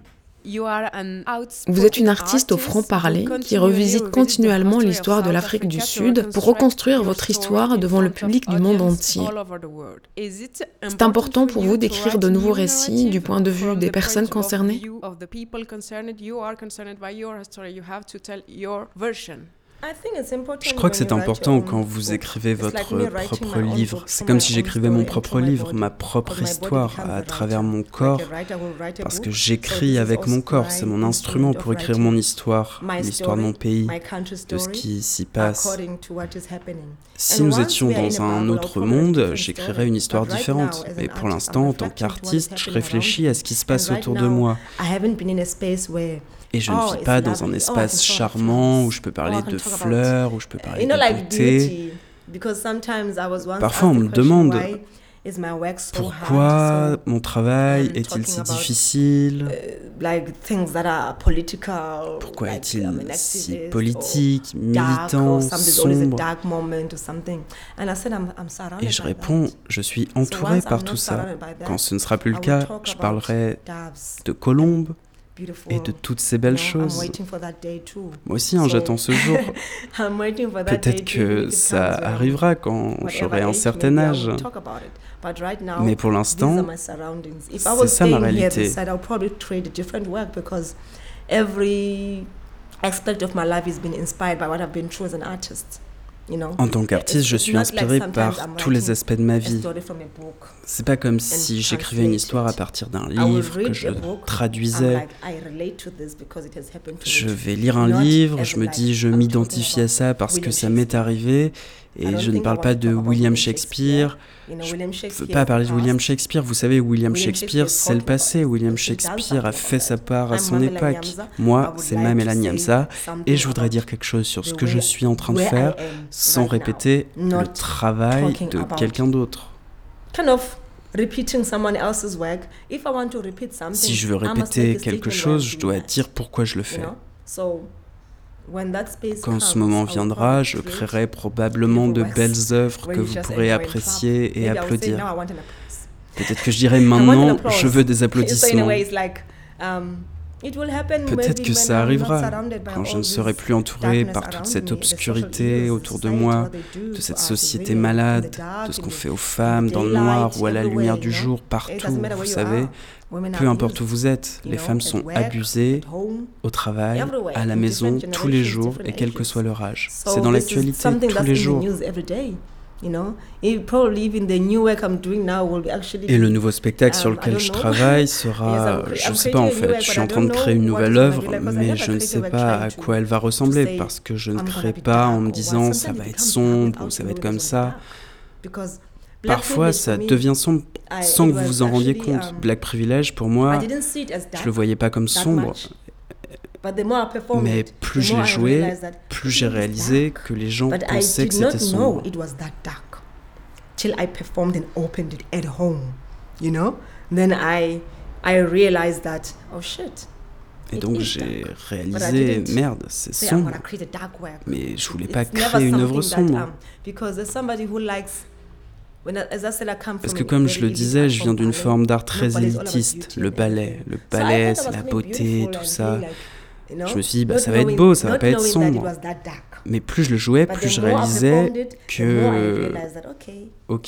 Vous êtes une artiste au franc-parler qui revisite continuellement l'histoire de l'Afrique du Sud pour reconstruire votre histoire devant le public du monde entier. C'est important pour vous d'écrire de nouveaux récits du point de vue des personnes concernées ? Je crois que c'est important quand vous écrivez votre propre livre. C'est comme si j'écrivais mon propre livre, ma propre histoire à travers mon corps, parce que j'écris avec mon corps, c'est mon instrument pour écrire mon histoire, l'histoire de mon pays, de ce qui s'y passe. Si nous étions dans un autre monde, j'écrirais une histoire différente, mais pour l'instant, en tant qu'artiste, je réfléchis à ce qui se passe autour de moi. Et je ne vis pas dans un espace charmant où je peux parler de fleurs, où je peux parler de beauté. Parfois, on me demande pourquoi mon travail est-il si difficile, pourquoi est-il si politique, militant, sombre. Et je réponds, je suis entourée par tout ça. Quand ce ne sera plus le cas, je parlerai de colombes, et de toutes ces belles choses. Moi aussi, hein, j'attends ce jour. Peut-être que ça arrivera quand j'aurai un certain âge. Mais pour l'instant, c'est ça ma réalité. En tant qu'artiste, je suis inspirée par tous les aspects de ma vie. C'est pas comme si j'écrivais une histoire à partir d'un livre, que je traduisais. Je vais lire un livre, je me dis je m'identifie à ça parce que ça m'est arrivé, et je ne parle pas de William Shakespeare. Je ne veux pas parler de William Shakespeare. Vous savez, William Shakespeare, c'est le passé. William Shakespeare a fait sa part à son époque. Moi, c'est Mamela Nyamza, et je voudrais dire quelque chose sur ce que je suis en train de faire sans répéter le travail de quelqu'un d'autre. Si je veux répéter quelque chose, je dois dire pourquoi je le fais. Quand ce moment viendra, je créerai probablement de belles œuvres que vous pourrez apprécier et applaudir. Peut-être que je dirai maintenant, je veux des applaudissements. Peut-être que ça arrivera quand je ne serai plus entouré par toute cette obscurité autour de moi, de cette société malade, de ce qu'on fait aux femmes dans le noir ou à la lumière du jour, partout, vous savez. Peu importe où vous êtes, les femmes sont abusées au travail, à la maison, tous les jours, et quel que soit leur âge. C'est dans l'actualité tous les jours. Et le nouveau spectacle sur lequel je travaille sera, je ne sais pas en fait, je suis en train de créer une nouvelle œuvre, mais je ne sais pas à quoi elle va ressembler, parce que je ne crée pas en me disant ça va être sombre ou ça va être comme ça. Parfois, ça devient sombre sans que vous vous en rendiez compte. Black Privilege, pour moi, je ne le voyais pas comme sombre. Mais plus je l'ai joué, plus j'ai réalisé que les gens pensaient que c'était sombre. Et donc j'ai réalisé, merde, c'est sombre. Mais je voulais pas créer une œuvre sombre. Parce que comme je le disais, je viens d'une forme d'art très élitiste, le ballet. Le ballet, c'est la beauté, tout ça. Je me suis dit, bah, ça va être beau, ça va pas être sombre. Mais plus je le jouais, plus je réalisais que, ok,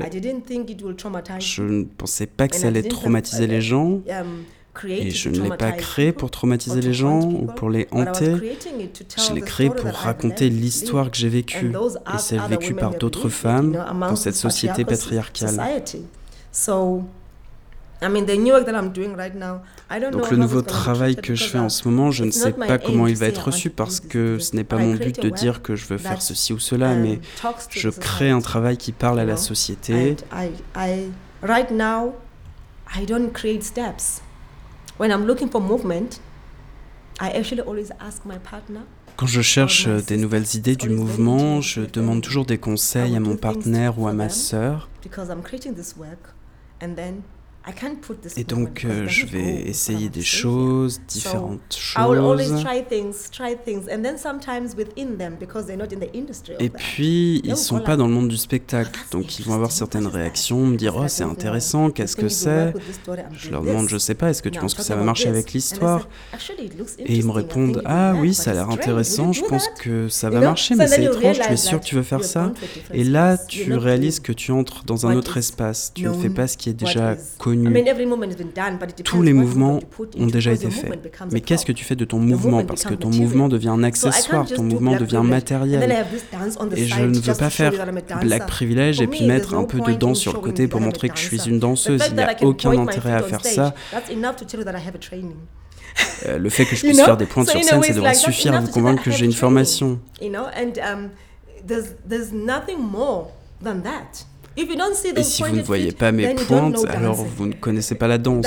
je ne pensais pas que ça allait traumatiser les gens, et je ne l'ai pas créé pour traumatiser les gens ou pour les hanter. Je l'ai créé pour raconter l'histoire que j'ai vécue, et celle vécue par d'autres femmes dans cette société patriarcale. Donc le nouveau travail que je fais en ce moment, je ne sais pas comment il va être reçu parce que ce n'est pas mon but de dire que je veux faire ceci ou cela, mais je crée un travail qui parle à la société. Quand je cherche des nouvelles idées du mouvement, je demande toujours des conseils à mon partenaire ou à ma sœur. Et donc, euh, je vais essayer des choses, différentes choses. Et puis, ils ne sont pas dans le monde du spectacle, donc ils vont avoir certaines réactions, me dire « Oh, c'est intéressant, qu'est-ce que c'est ?» Je leur demande « Je sais pas, est-ce que tu penses que ça va marcher avec l'histoire ?» Et ils me répondent « Ah oui, ça a l'air intéressant, je pense que ça va marcher, mais c'est étrange, tu es sûr que tu veux faire ça ?» Et là, tu réalises que tu entres dans un autre espace, tu ne fais pas ce qui est déjà connu. Tous les mouvements ont déjà été faits. Mais qu'est-ce que tu fais de ton mouvement? Parce que ton mouvement devient un accessoire, ton mouvement devient matériel. Et je ne veux pas faire Black Privilege et puis mettre un peu de danse sur le côté pour montrer que je suis une danseuse. Il n'y a aucun intérêt à faire ça. Euh, le fait que je puisse faire des pointes sur scène, ça devrait suffire à vous convaincre que j'ai une formation. Et si vous ne voyez pas mes pointes, alors vous ne connaissez pas la danse.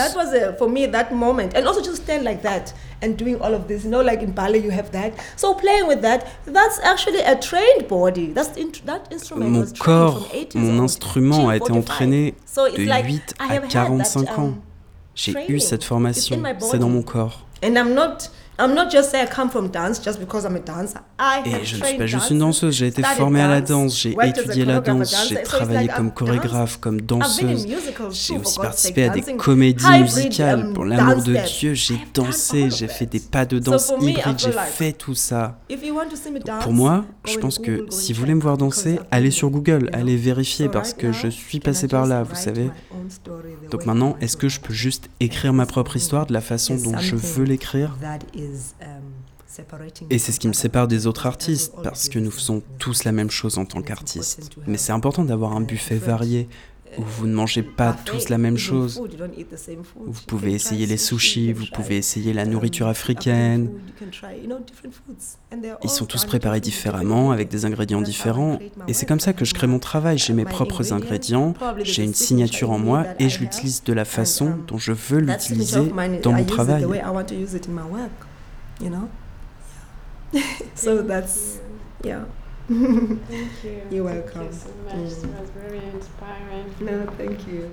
Mon corps, mon instrument a été entraîné de huit à quarante-cinq ans. J'ai eu cette formation, c'est dans mon corps. I'm not just saying I come from dance just because I'm a dancer. I have Et je ne suis trained pas juste une dancers, danseuse, j'ai été studied formée à la dance, danse, j'ai worked as a étudié la choreographer, danse, dancer. j'ai So it's travaillé like comme I've chorégraphe, comme I've been in danseuse. musicals J'ai too, aussi for God's participé sake, à des dancing comédies hybrid, musicales. um, Pour l'amour de dance Dieu, steps. j'ai I've done dansé, all of j'ai fait that. des pas de So danse for me, I hybrides, feel j'ai like fait tout ça. If you want to see me dance, Pour moi, go je in pense Google, que go si and vous voulez me check, voir because danser, I've allez been sur there, Google, you know. allez vérifier So parce right que now, je suis can I passé par just là, vous write savez. my own story the Donc way I maintenant, want est-ce to que je write peux it? juste écrire ma propre histoire de la façon There's dont je something veux l'écrire? that is, um, separating Et me c'est ce from qui me other sépare des people. autres It doesn't artistes, always parce be que the nous same faisons thing. tous la même chose en tant It's qu'artistes. important to Mais have, c'est important d'avoir un uh, buffet different, varié, où vous ne mangez pas buffet, tous la même even chose. food, you don't eat the same food. Vous You pouvez can essayer try les sushi, sushis, you vous can pouvez try, essayer la um, nourriture African africaine. food, you can try, you know, different foods. And they're Ils all sont tous done préparés differently, différemment, different avec des ingrédients That's how I différents. create my Et c'est work. comme ça I que je have crée mon my- travail. J'ai uh, mes my propres ingredients. ingrédients, Probably there's j'ai a une signature signature en in me moi that et I je have. l'utilise de la façon And, um, dont je veux that signature l'utiliser of mine, dans I mon use it travail. the way I want to use it in my work, you know. So that's yeah. Thank you. You're Thank welcome. you so much. Mm. It was very inspiring. No, thank you.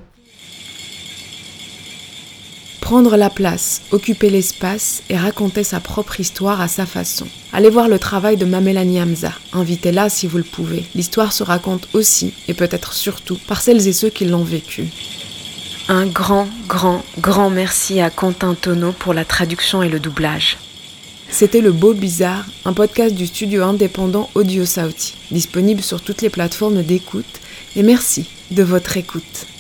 Prendre la place, occuper l'espace et raconter sa propre histoire à sa façon. Allez voir le travail de Mamela Nyamza, invitez-la si vous le pouvez. L'histoire se raconte aussi, et peut-être surtout, par celles et ceux qui l'ont vécue. Un grand, grand, grand merci à Quentin Tonneau pour la traduction et le doublage. C'était Le Beau Bizarre, un podcast du studio indépendant Audio Sauti, disponible sur toutes les plateformes d'écoute, et merci de votre écoute.